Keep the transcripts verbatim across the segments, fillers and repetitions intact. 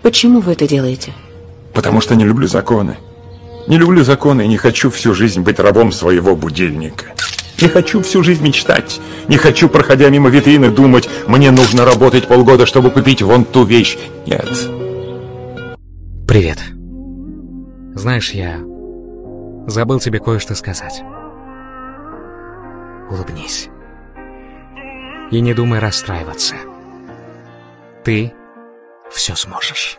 Почему вы это делаете? Потому что не люблю законы. Не люблю законы и не хочу всю жизнь быть рабом своего будильника. Не хочу всю жизнь мечтать. Не хочу, проходя мимо витрины, думать, мне нужно работать полгода, чтобы купить вон ту вещь. Нет. Привет. Знаешь, я забыл тебе кое-что сказать. Улыбнись. И не думай расстраиваться. Ты все сможешь.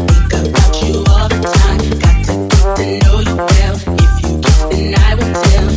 Well, if you kiss, then I will tell.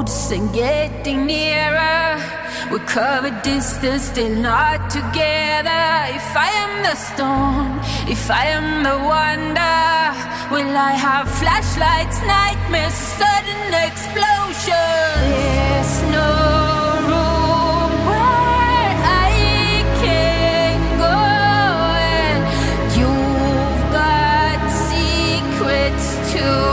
roads and getting nearer. We cover distance, still not together. If I am the storm, if I am the wonder, will I have flashlights, nightmares, sudden explosion? There's no room where I can go, and you've got secrets too.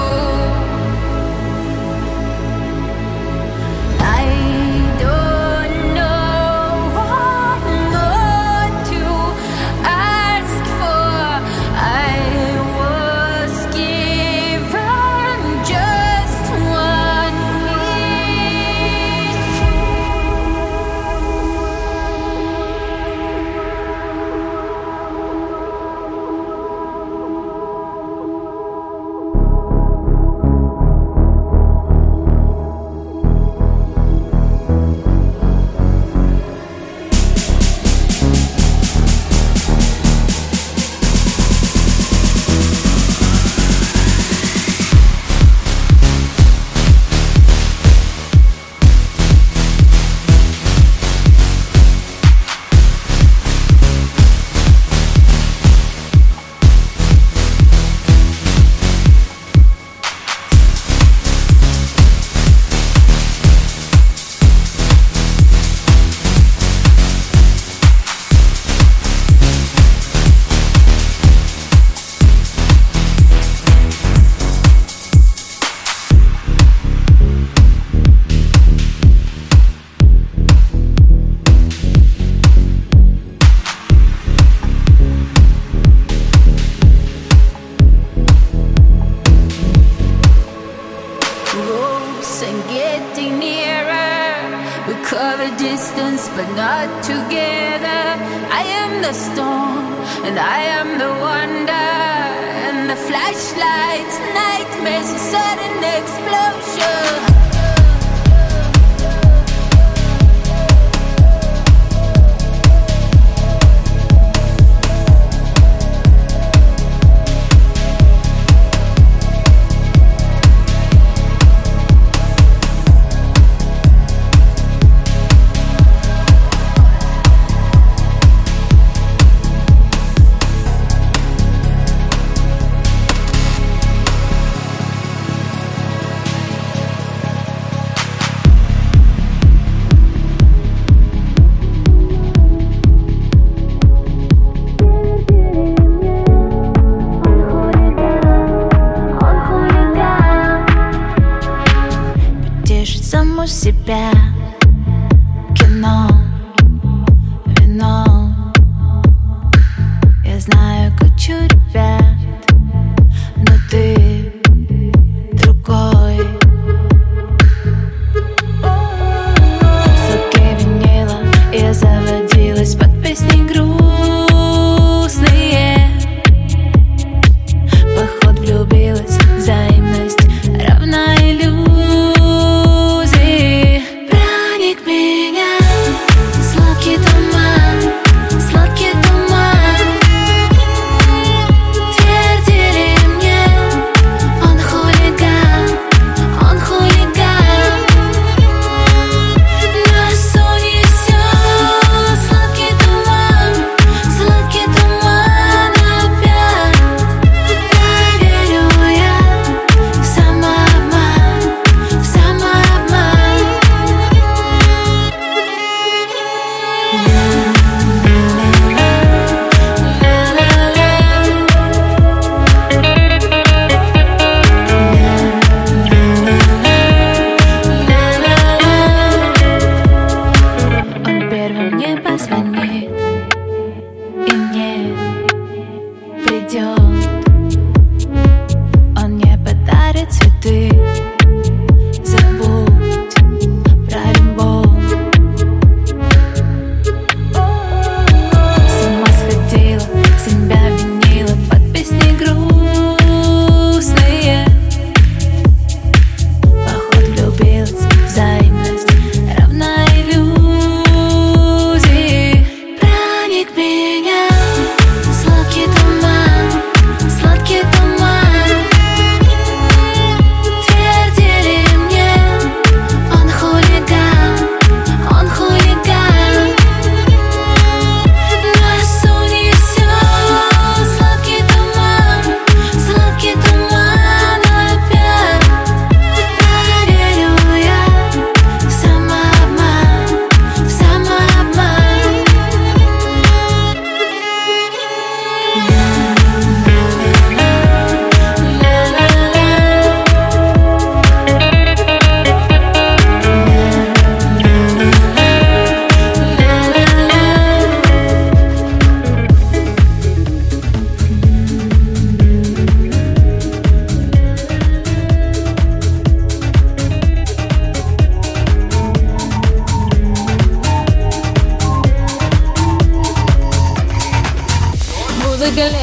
Distance, but not together. I am the storm, and I am the wonder, and the flashlights, nightmares, a sudden explosion. Себя кино, вино. Я знаю кучу ребят, но ты другой. Звуки винила, я заводилась под песни грустные. Поход влюбилась, взаимность равна иллюзии.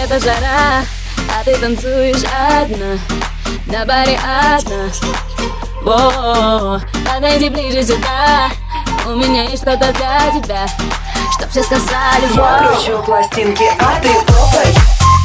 лето жара, а ты танцуешь одна, на баре одна. О, подойди ближе сюда, у меня есть что-то для тебя, чтоб все сказали. Я кручу пластинки, а ты попой.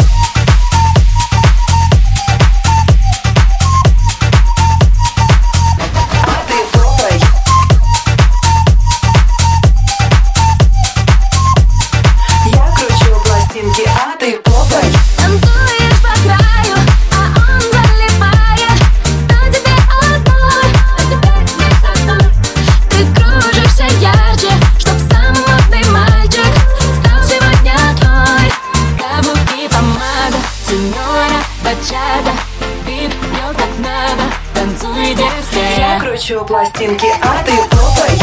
Я кручу пластинки, а ты попой.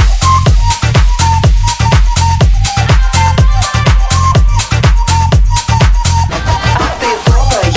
А ты попой.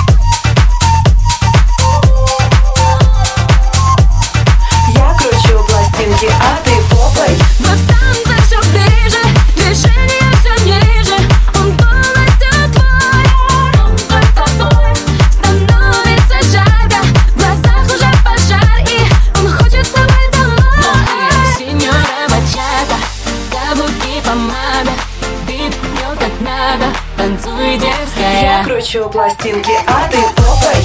Я кручу пластинки, а ты попой. Мы в танце все ближе, движение все ниже. Он полностью твой, становится жарко, в глазах уже пожар, и он хочет с тобой домой. Синьора бачата, каблуки, помада, бит бьет как надо, танцуй дерзкая. Я кручу пластинки, а ты попой.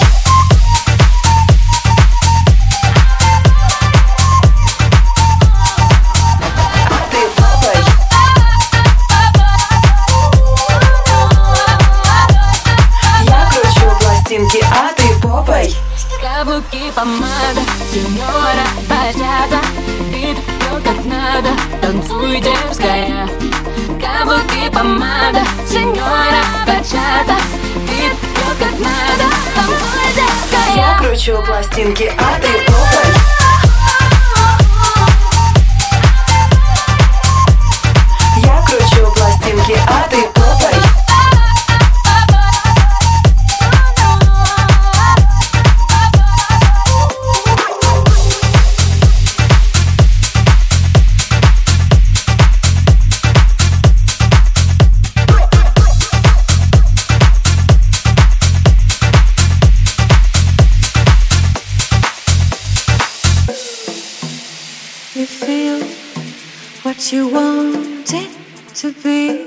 А ты попой. Каблуки, помада, синьора бачата, бит бьет как надо, танцуй дерзкая. Каблуки, помада, синьора бачата, бит бьет как надо, танцуй дерзкая. Я кручу пластинки, а ты попой. Я кручу пластинки, а ты попой. You feel what you want it to be.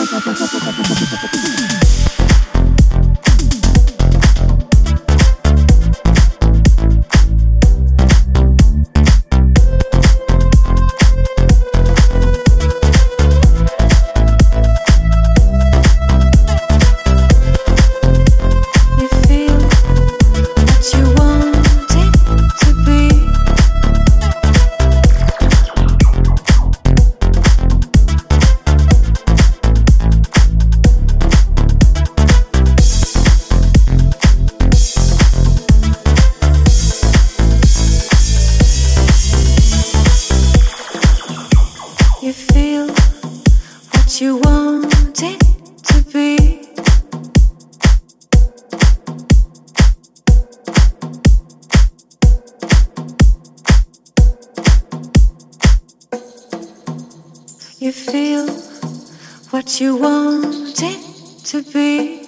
You feel what you want it to be.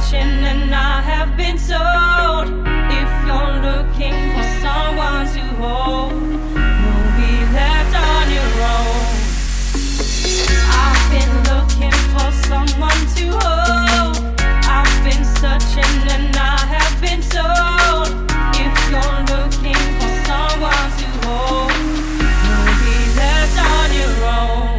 searching and I have been told, if you're looking for someone to hold, you'll be left on your own. I've been looking for someone to hold. I've been searching and I have been told, if you're looking for someone to hold, you'll be left on your own.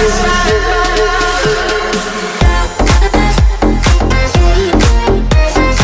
Shine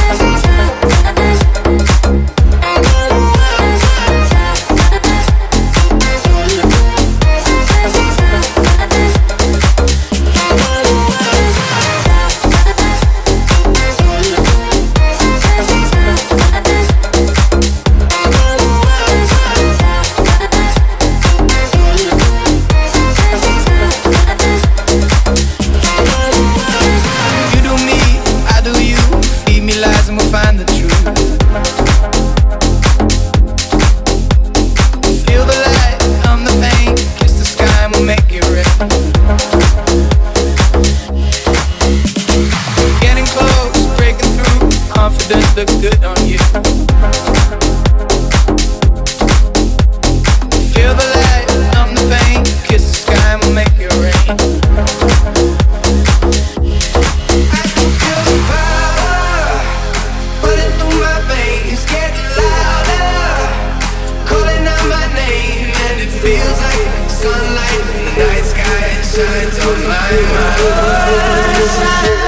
looks good on you. Feel the light, numb the pain. Kiss the sky and we'll make it rain. I can feel the power running through my veins, getting louder, calling out my name, and it feels like sunlight in the night sky shines on my mind.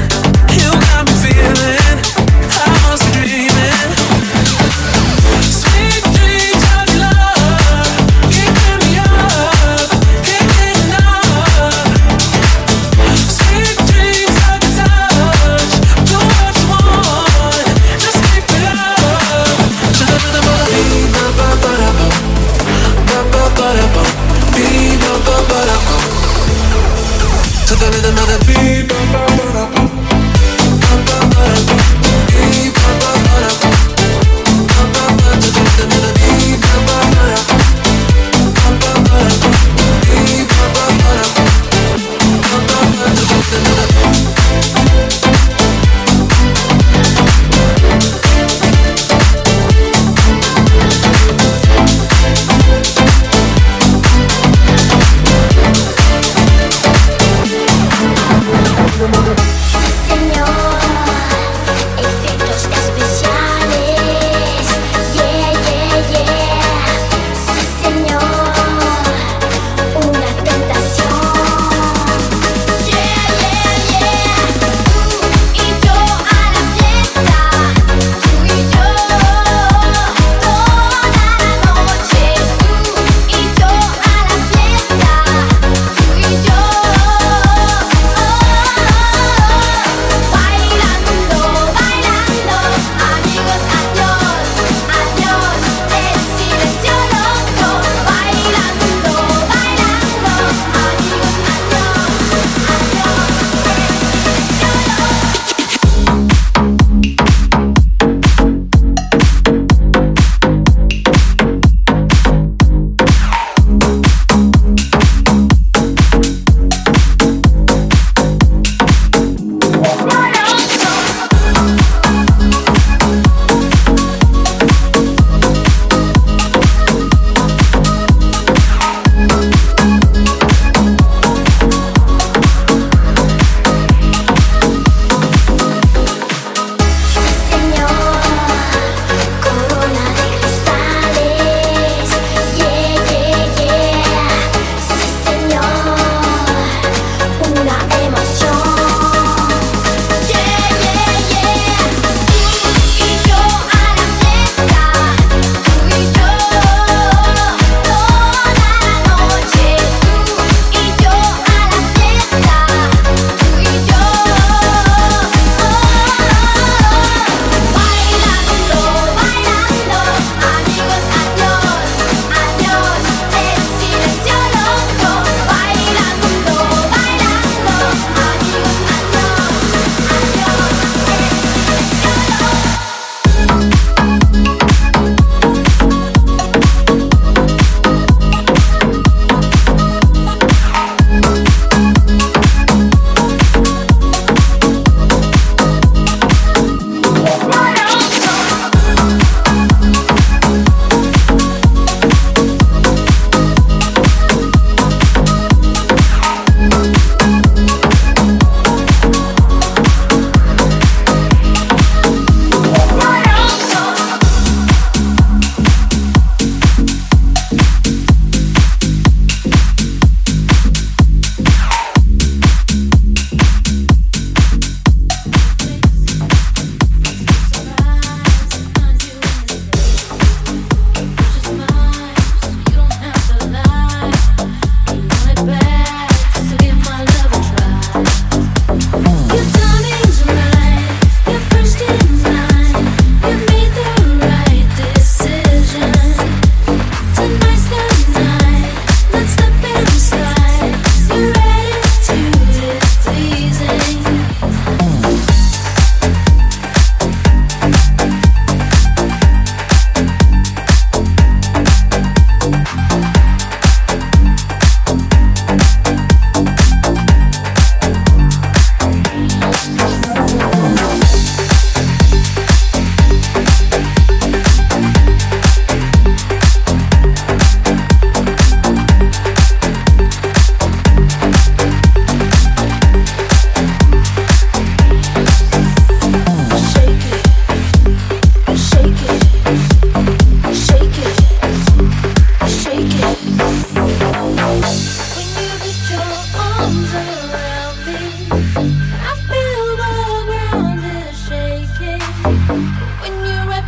Sweet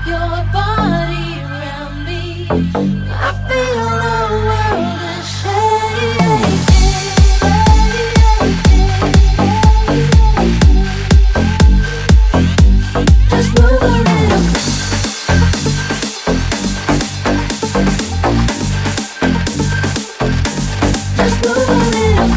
your body around me. I feel the world is shaking. Just move a little. Just move a little.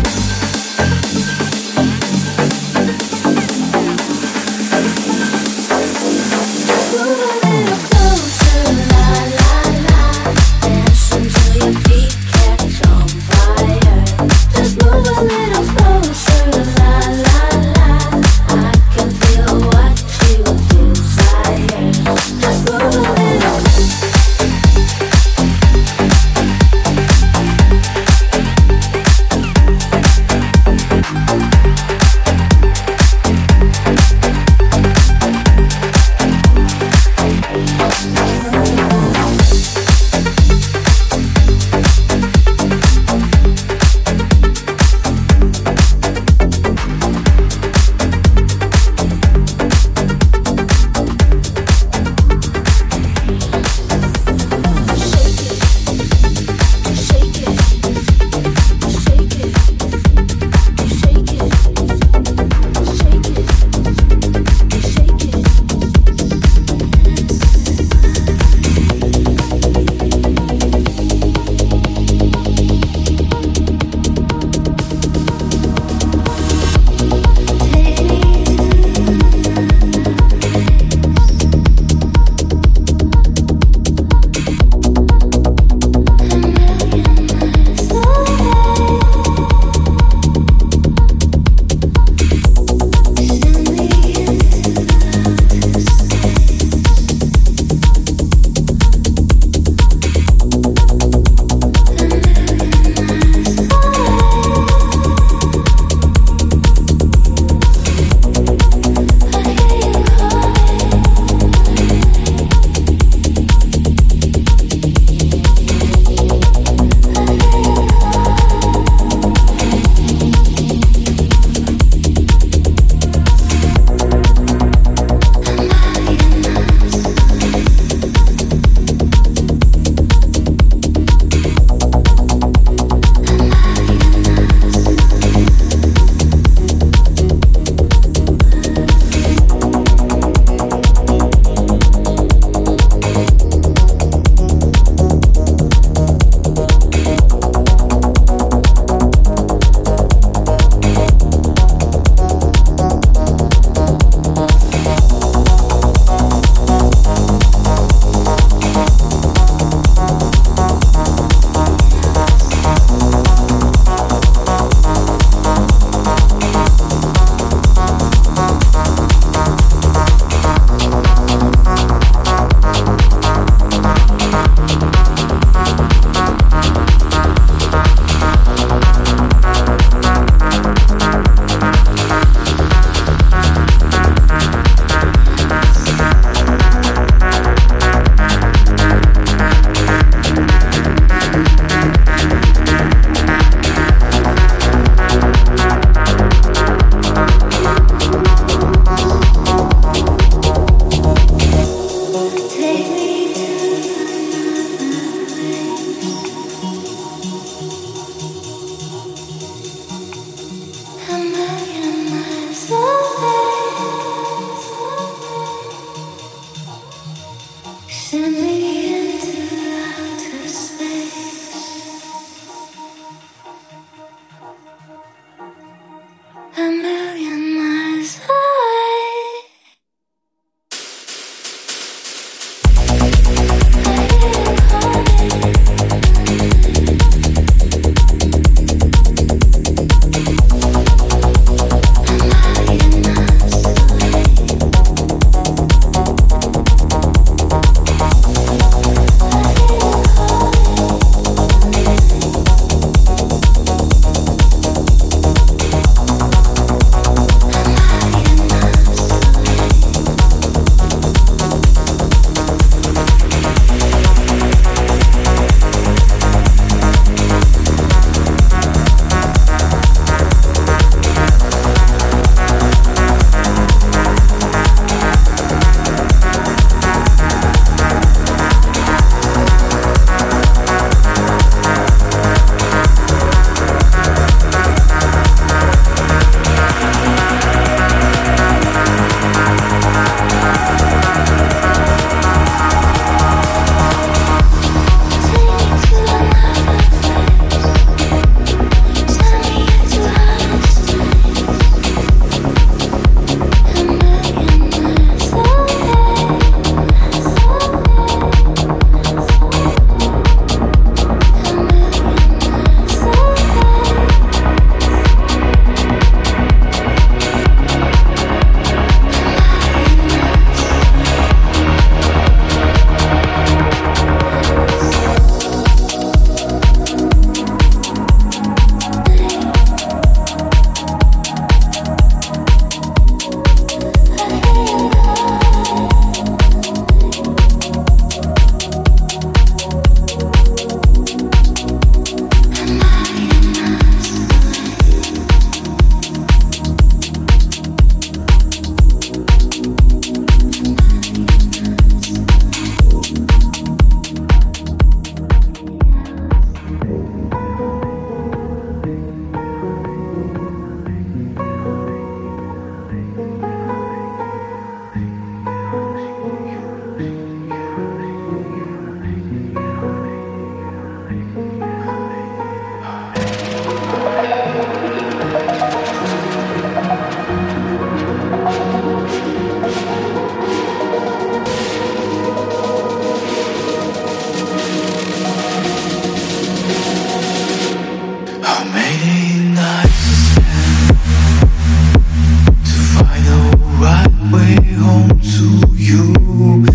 Just move a little closer, la la la. Dance until your feet catch on fire. Just move a little closer, la la la. I can feel what you desire. Just move a little.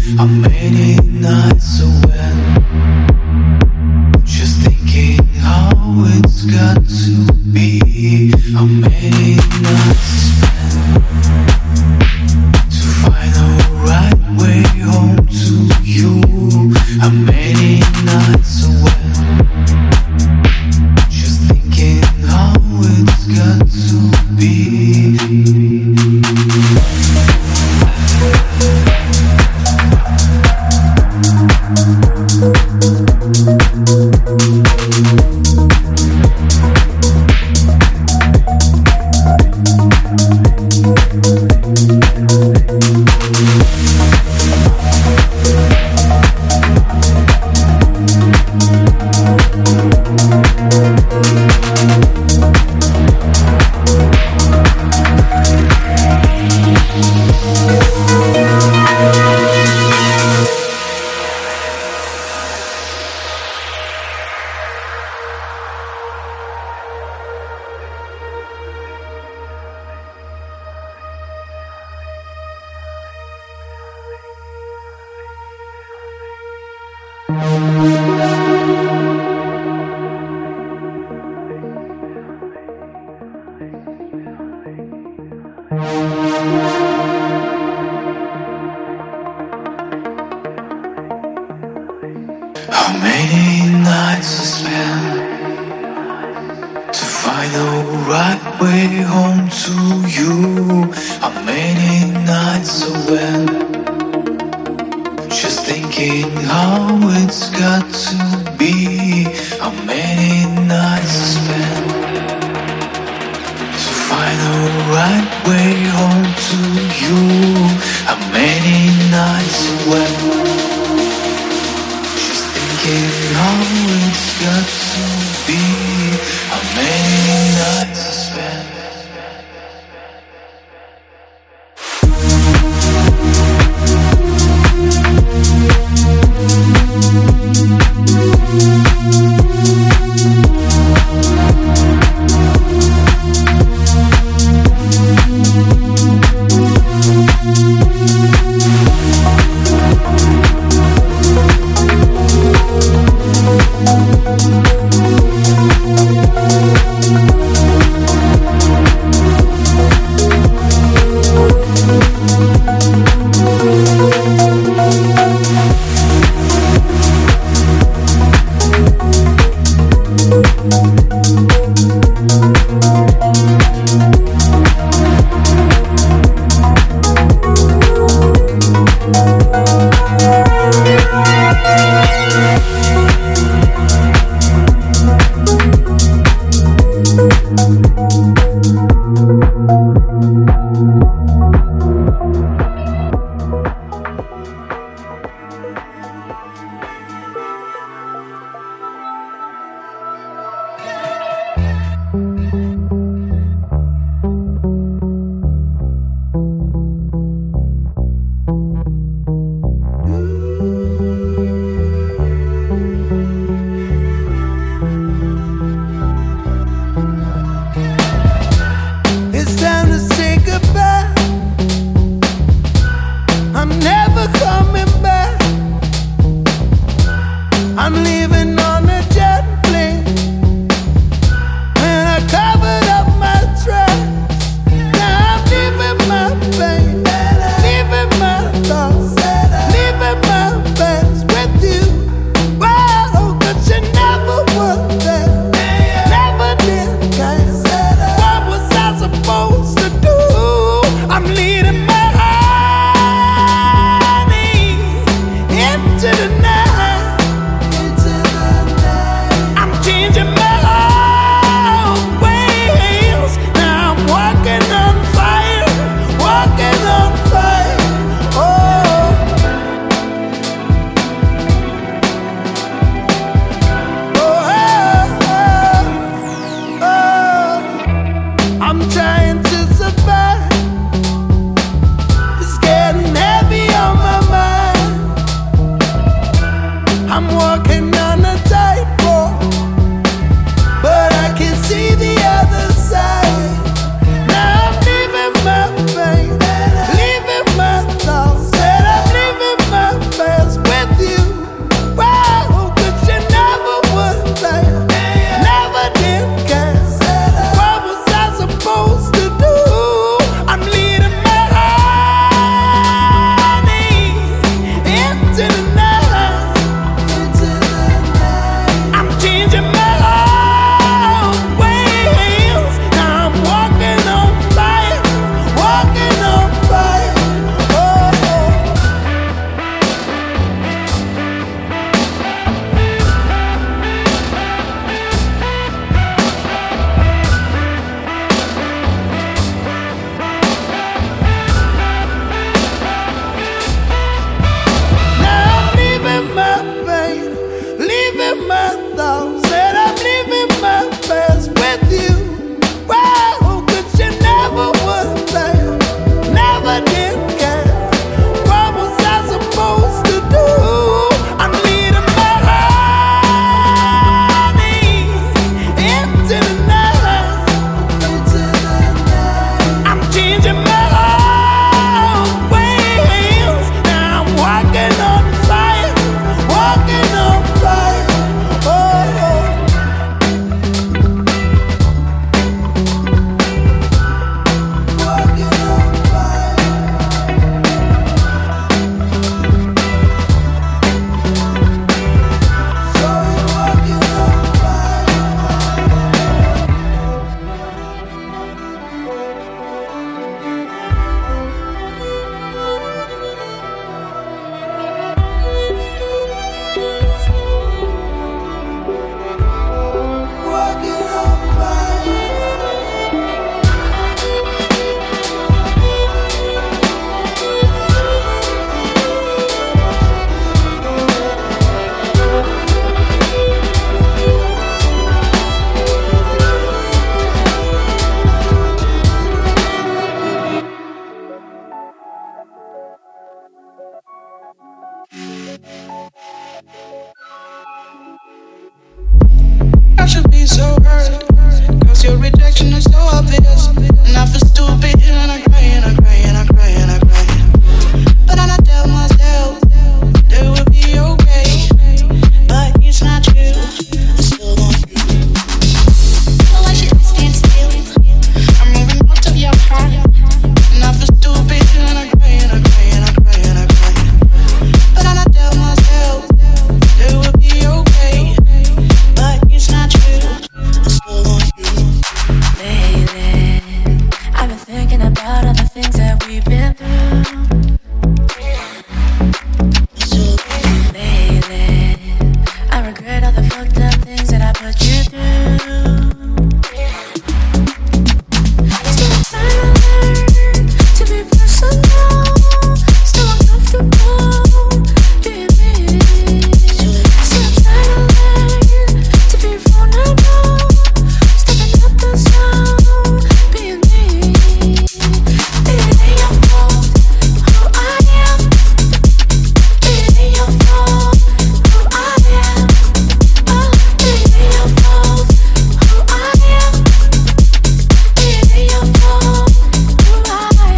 How many nights away, just thinking how it's got to be. How many nights spent to find the right way home to you. How many nights away, just thinking how it's got to be. How many nights I spent to find the right way home to you. How many nights I went just thinking how it's got to be. How many nights I spent to find the right way home to you. How many nights I went how it's got to be. How many nights I spent. I should be so hurt, cause your rejection is so obvious. And I feel stupid and I cry and I cry and I cry and I cry. But then I tell myself that it will be okay. But it's not true, I still want you. So I should stand still, I'm moving out of your heart. And I feel stupid and I cry and I cry and I cry and I cry. But then I tell myself that it will be okay. But it's not true, I still want you. Lately, I've been thinking about all the things that we've been through. Lately, I regret all the fucked up things that I put you through. Still trying to learn to be personal. Still uncomfortable being me. Still trying to learn to be vulnerable. Stepping up the sound, being me. It ain't your fault who I am. It ain't your fault who I am. Oh, it ain't your fault who I am. It ain't your fault who I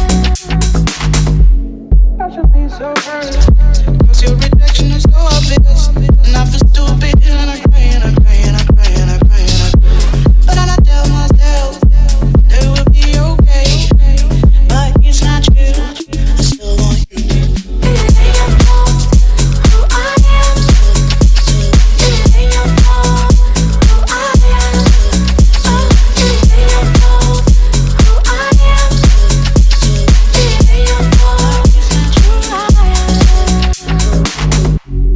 am. I should be so hurt, cause your rejection is so obvious. And I feel stupid and I cry and I cry and I cry and I cry and I cry. But then I tell myself that it will be okay. But it's not true, I still want you. It ain't your fault who I am. It ain't your fault who I am. Oh, it ain't your fault who I am. It ain't your fault who I am.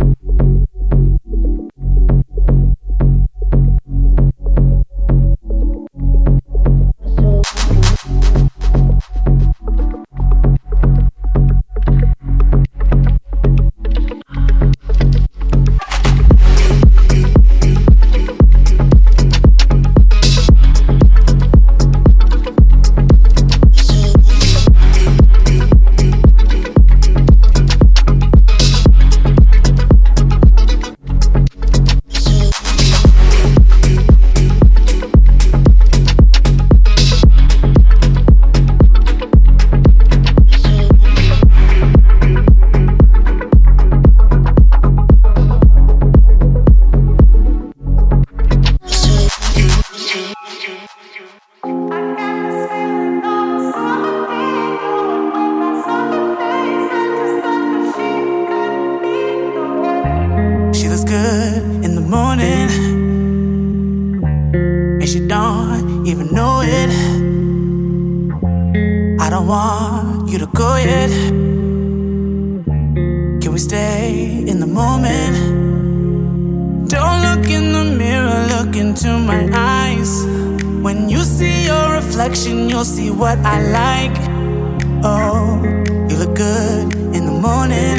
She looks good in the morning, and she don't even know it. I don't want you to go yet. Can we stay in the moment? Don't look in the mirror, look into my eyes. When you see your reflection, you'll see what I like. Oh, you look good in the morning,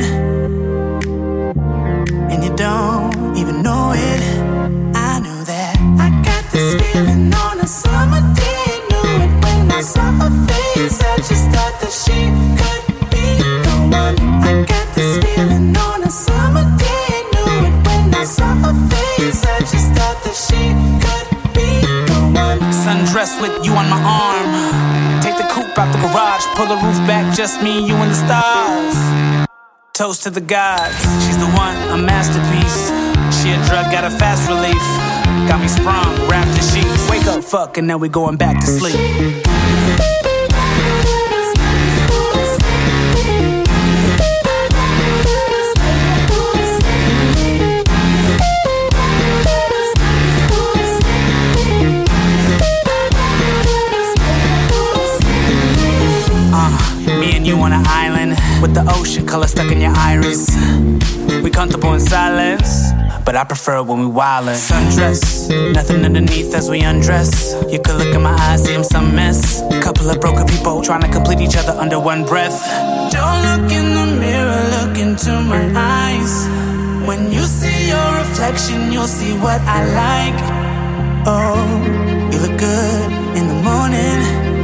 and you don't even know it. I knew that. I got this feeling on a summer day. Knew it when I saw her face. I just thought that she could be the one. I got this feeling on a summer day. Knew it when I saw her face. I just thought that she could be the one. Sundress with you on my arm. Take the coupe out the garage. Pull the roof back, just me, you and the stars. Toast to the gods, she's the one, a masterpiece. She a drug, got a fast relief. Got me sprung, wrapped in sheets. Wake up, fuck, and now we going back to sleep. Me and you on an island with the ocean color stuck in your iris. We comfortable in silence, but I prefer it when we wildin'. Sundress, nothing underneath as we undress. You could look in my eyes, see I'm some mess. Couple of broken people trying to complete each other under one breath. Don't look in the mirror, look into my eyes. When you see your reflection, you'll see what I like. Oh, you look good in the morning,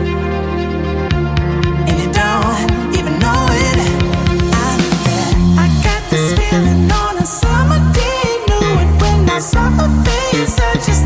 and you don't even know it. I knew that. I got this feeling on a summer day. Knew it when I saw her face. I just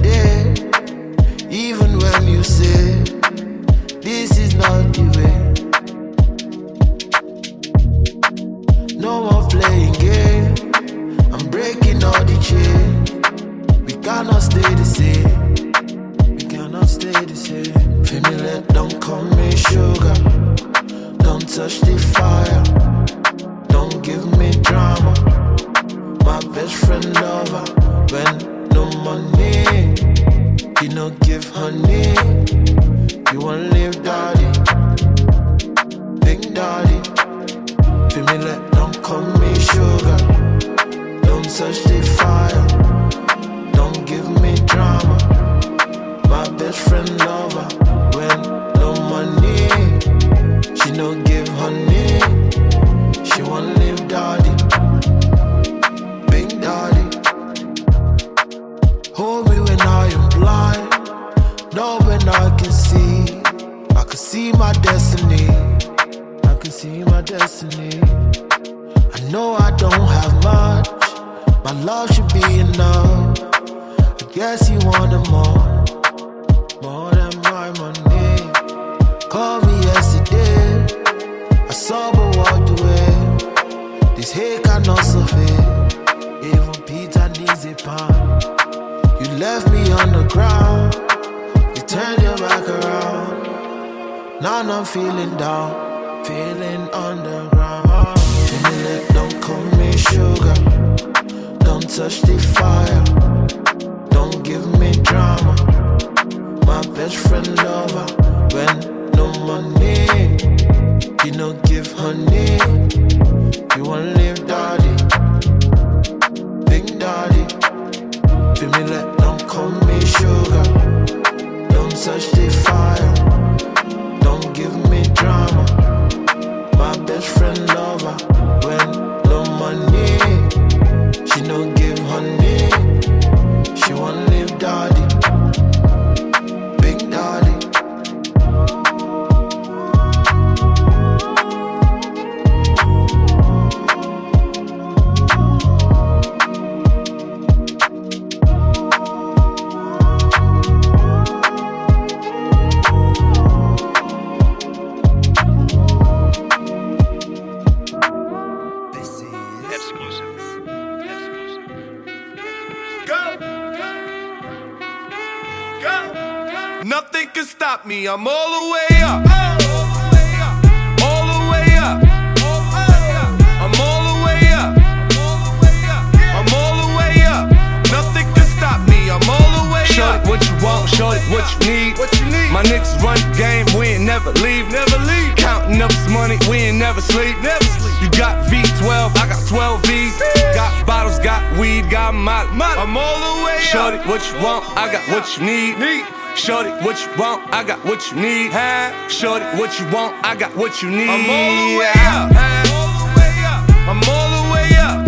day. Even when you say this is not the way. No more playing game. I'm breaking all the chains. We cannot stay the same. We cannot stay the same. Feel me, let don't call me sugar. Don't touch the fire. Don't give me drama. My best friend lover. When no money, you no give honey. You won't live daddy, big daddy. Feel me, let don't call me sugar. Don't touch the fire. Don't give me drama. My best friend lover. When no money, she no give honey. She won't live daddy, big daddy. Hold me when I am blind. Know when I can see. I can see my destiny. I can see my destiny. I know I don't have much. My love should be enough. I guess you wanted more. More than my money. Call me yesterday. I saw but walked away. This hate cannot survive. Even Peter needs a pound. You left me on the ground. You turned your back around. Now I'm feeling down. Feeling underground. Feel me, let don't call me sugar. Don't touch the fire. Don't give me drama. My best friend lover. When no money, you no give honey. You won't live daddy, big daddy. Feel me, let don't call me sugar. Don't touch the fire. Don't give me drama. My best friend lover. When no money, she no give honey. She won't live daddy, big daddy. Nothing can stop me, I'm all the way up. All the way up. I'm all the way up. I'm all the way up. Nothing can stop me, I'm all the way up. Shorty, what you want, shorty, what you need. What you need? My niggas run the game, we ain't never leave. Never leave. Counting up this money, we ain't never sleep. Never sleep. You got V twelve, I got twelve V's. Got bottles, got weed, got molly. I'm all the way up. Shorty, what you want, I got what you need. need. Shorty, what you want, I got what you need. Shorty, what you want, I got what you need. I'm all the way up. I'm all the way up.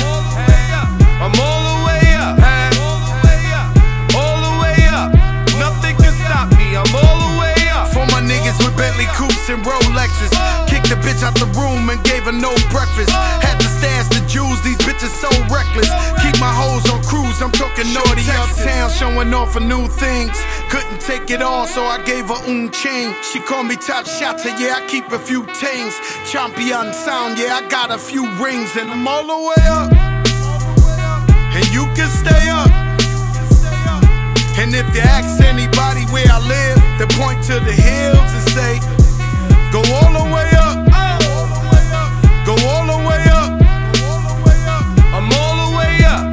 I'm all the way up. All the way up. Nothing can stop me, I'm all the way up. For my niggas with Bentley coupes and Rolexes. Kicked the bitch out the room and gave her no breakfast. Had to stash the jewels, these bitches so reckless. Keep my hoes on cruise, I'm talking naughty uptown, showing off for new things. Couldn't take it all, so I gave her un chain. She called me top shotter, yeah, I keep a few tings. Champion sound, yeah, I got a few rings. And I'm all the way up, and you can stay up. And if you ask anybody where I live, they point to the hills and say, go all the way up, go all the way up. I'm all the way up.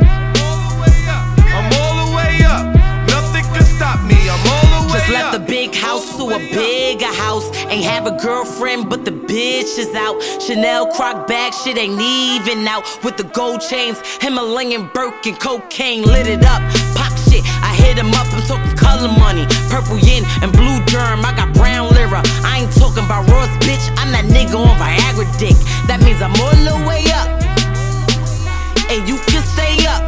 I'm all the way up. Nothing can stop me, I'm all the way up. Just left the big house to a bigger house. Ain't have a girlfriend, but the bitch is out. Chanel croc bag, shit ain't even out. With the gold chains, Himalayan Birkin, cocaine lit it up. Pop shit, I hit him up, I'm talking color money. Purple yin and blue germ, I got brown lira. I ain't talking about Ross, bitch, I'm that nigga on Viagra dick. That means I'm all the way up, and you can stay up.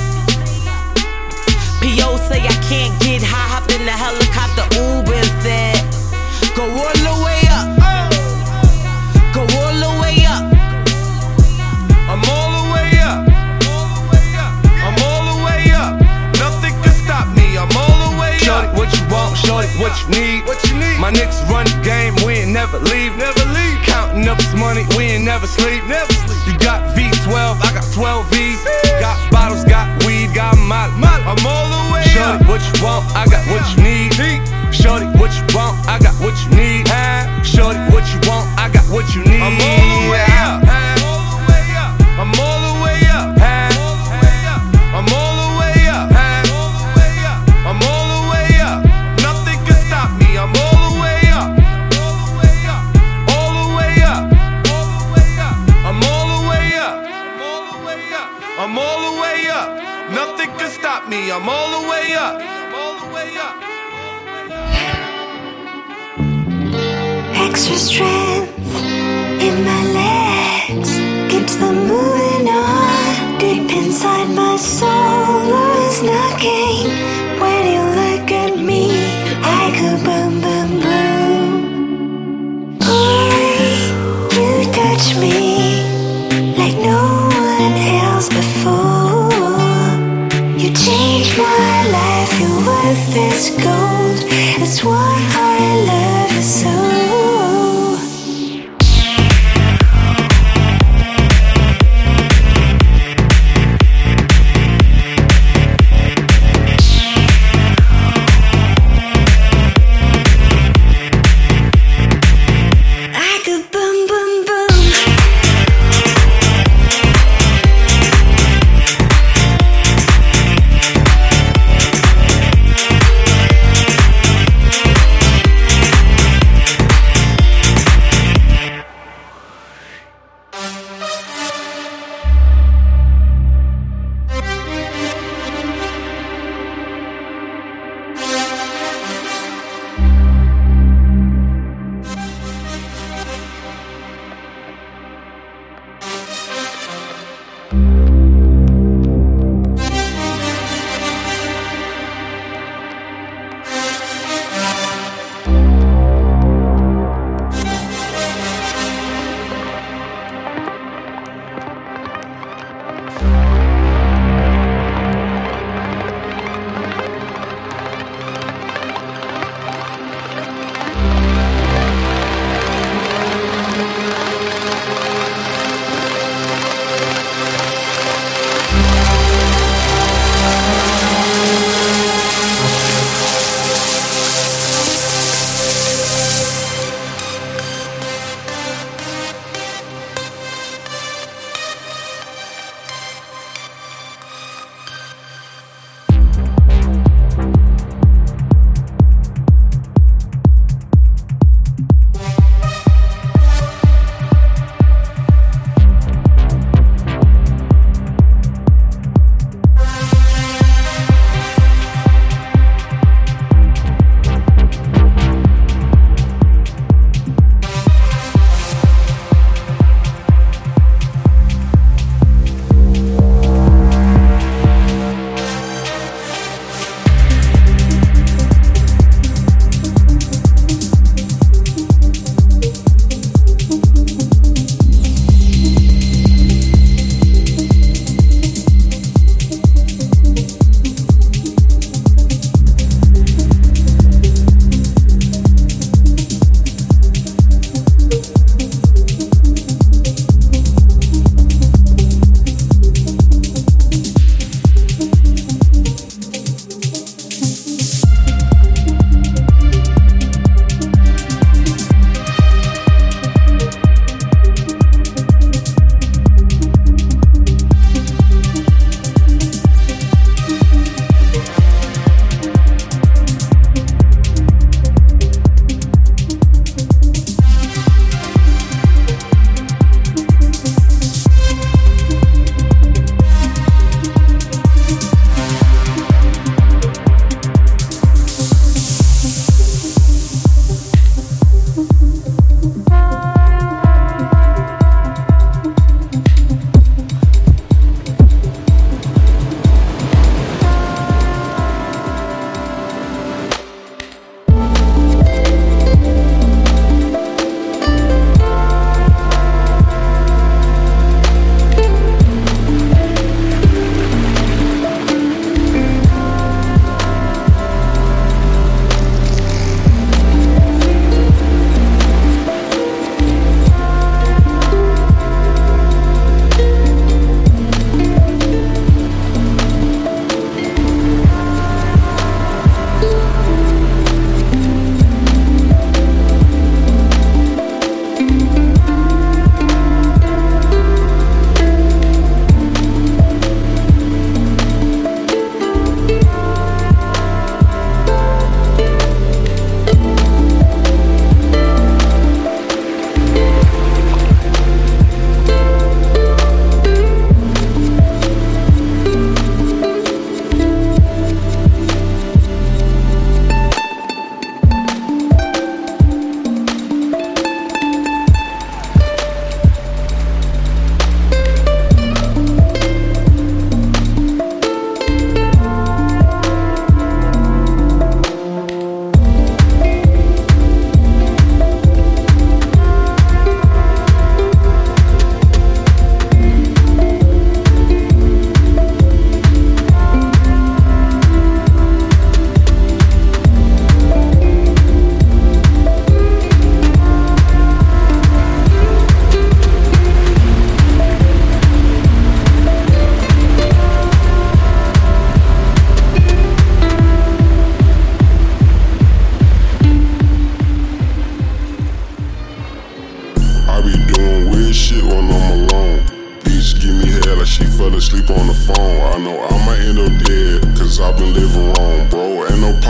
P O say I can't get high, hop in the helicopter, Uber and said, go all the way up, go all the way up. I'm all the way up. I'm all the way up. Nothing can stop me, I'm you need. What you need? My niggas run the game, we ain't never leave. Never leave. Counting up this money, we ain't never sleep. Never sleep. You got V twelve, I got twelve V's. Got bottles, got weed, got molly. I'm all the way up. Shorty, what you want? I got what you need. Shorty, what you want? I got what you need. Shorty, what you want? I got what you need. I'm all the way up. I'm all the way up. I'm all the way up. I'm all the way up. Nothing can stop me. I'm all the way up. All the way up. I'm all the way up. I'm all the way up. Nothing can stop me. I'm all the way up. All the way up. Extra strength in my legs keeps them moving on. Deep inside my soul is knocking. When you look at me, I go boom, boom, boom. Boy, you touch me like no one else before. You changed my life, your worth is gold. That's why I love you so. We'll be right back.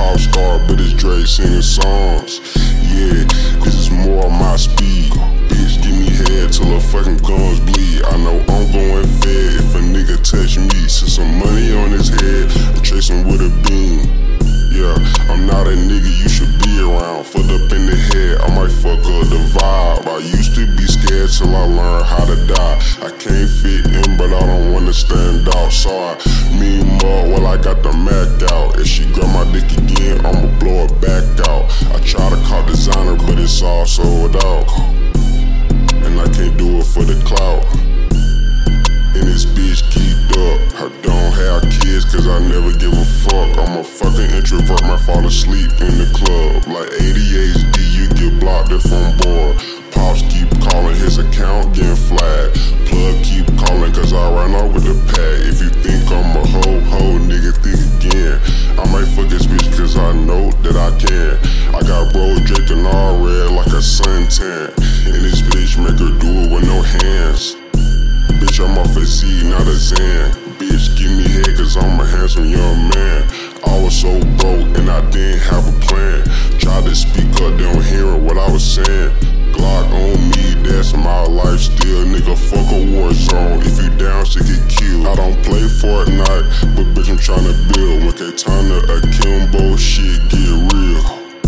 pop star, but it's Dre singing songs. Yeah, cause it's more on my speed. Bitch, give me head till her fucking guns bleed. I know I'm going fed if a nigga touch me. Send some money on his head and chase him with a beam. Yeah, I'm not a nigga you should be around. Fucked up in the head, I might fuck up the vibe. I used to be scared till I learned how to die. I can't fit in, but I don't wanna stand out. So I mean more while I got the Mac out. If she grab my dick again, I'ma blow it back out. I try to call designer, but it's all sold out. And I can't do it for the clout. And this bitch geeked up. I don't have kids cause I never give a fuck. I'm a fucking introvert, might fall asleep in the club. Like A D H D, you get blocked if I'm bored. Pops keep calling, his account getting flagged. Plug keep calling cause I ran off with the pack. If you think I'm a hoe, hoe, nigga, think again. I might fuck this bitch cause I know that I can. I got bro draped in all red like a suntan. And this bitch make her do it with no hands. Bitch, I'm off a Z, not a Zan. Bitch, give me head cause I'm a handsome young man. I was so broke and I didn't have a plan. Tried to speak up, they don't hear what I was saying. Glock on me, that's my life still. Nigga, fuck a war zone. If you down, shit get killed. I don't play Fortnite, but bitch, I'm tryna build. When they time to akimbo, shit get real.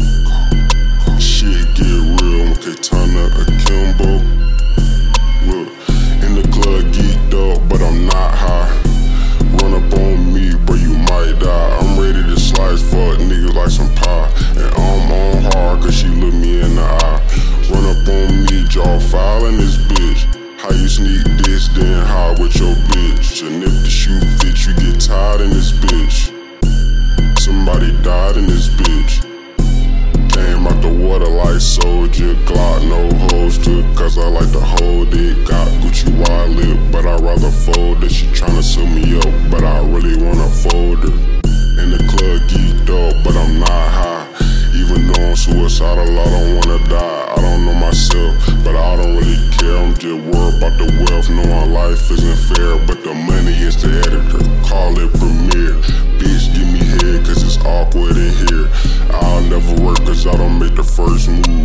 Shit get real. When they time to akimbo. Look, in the club geeked up, but I'm not high. Run up on me, bro, you might die. I'm ready to slice fuck niggas like some pie. And I'm on hard cause she look me in the eye. Run up on me, jaw file in this bitch. How you sneak this, then hide with your bitch. And if the shoe fits, you get tired in this bitch. Somebody died in this bitch. Came out the water like soldier. Glock, no holster, cause I like to hold it. Got Gucci wallet, but I'd rather fold it. She tryna sew me up, but I really wanna fold her. In the club geeked up, but I'm not high. Even though I'm suicidal, I don't wanna die. I don't know myself, but I don't really care. I'm just worried about the wealth, knowing life isn't fair. But the money is the editor, call it premiere. Bitch, give me head, cause it's awkward in here. I'll never work cause I don't make the first move.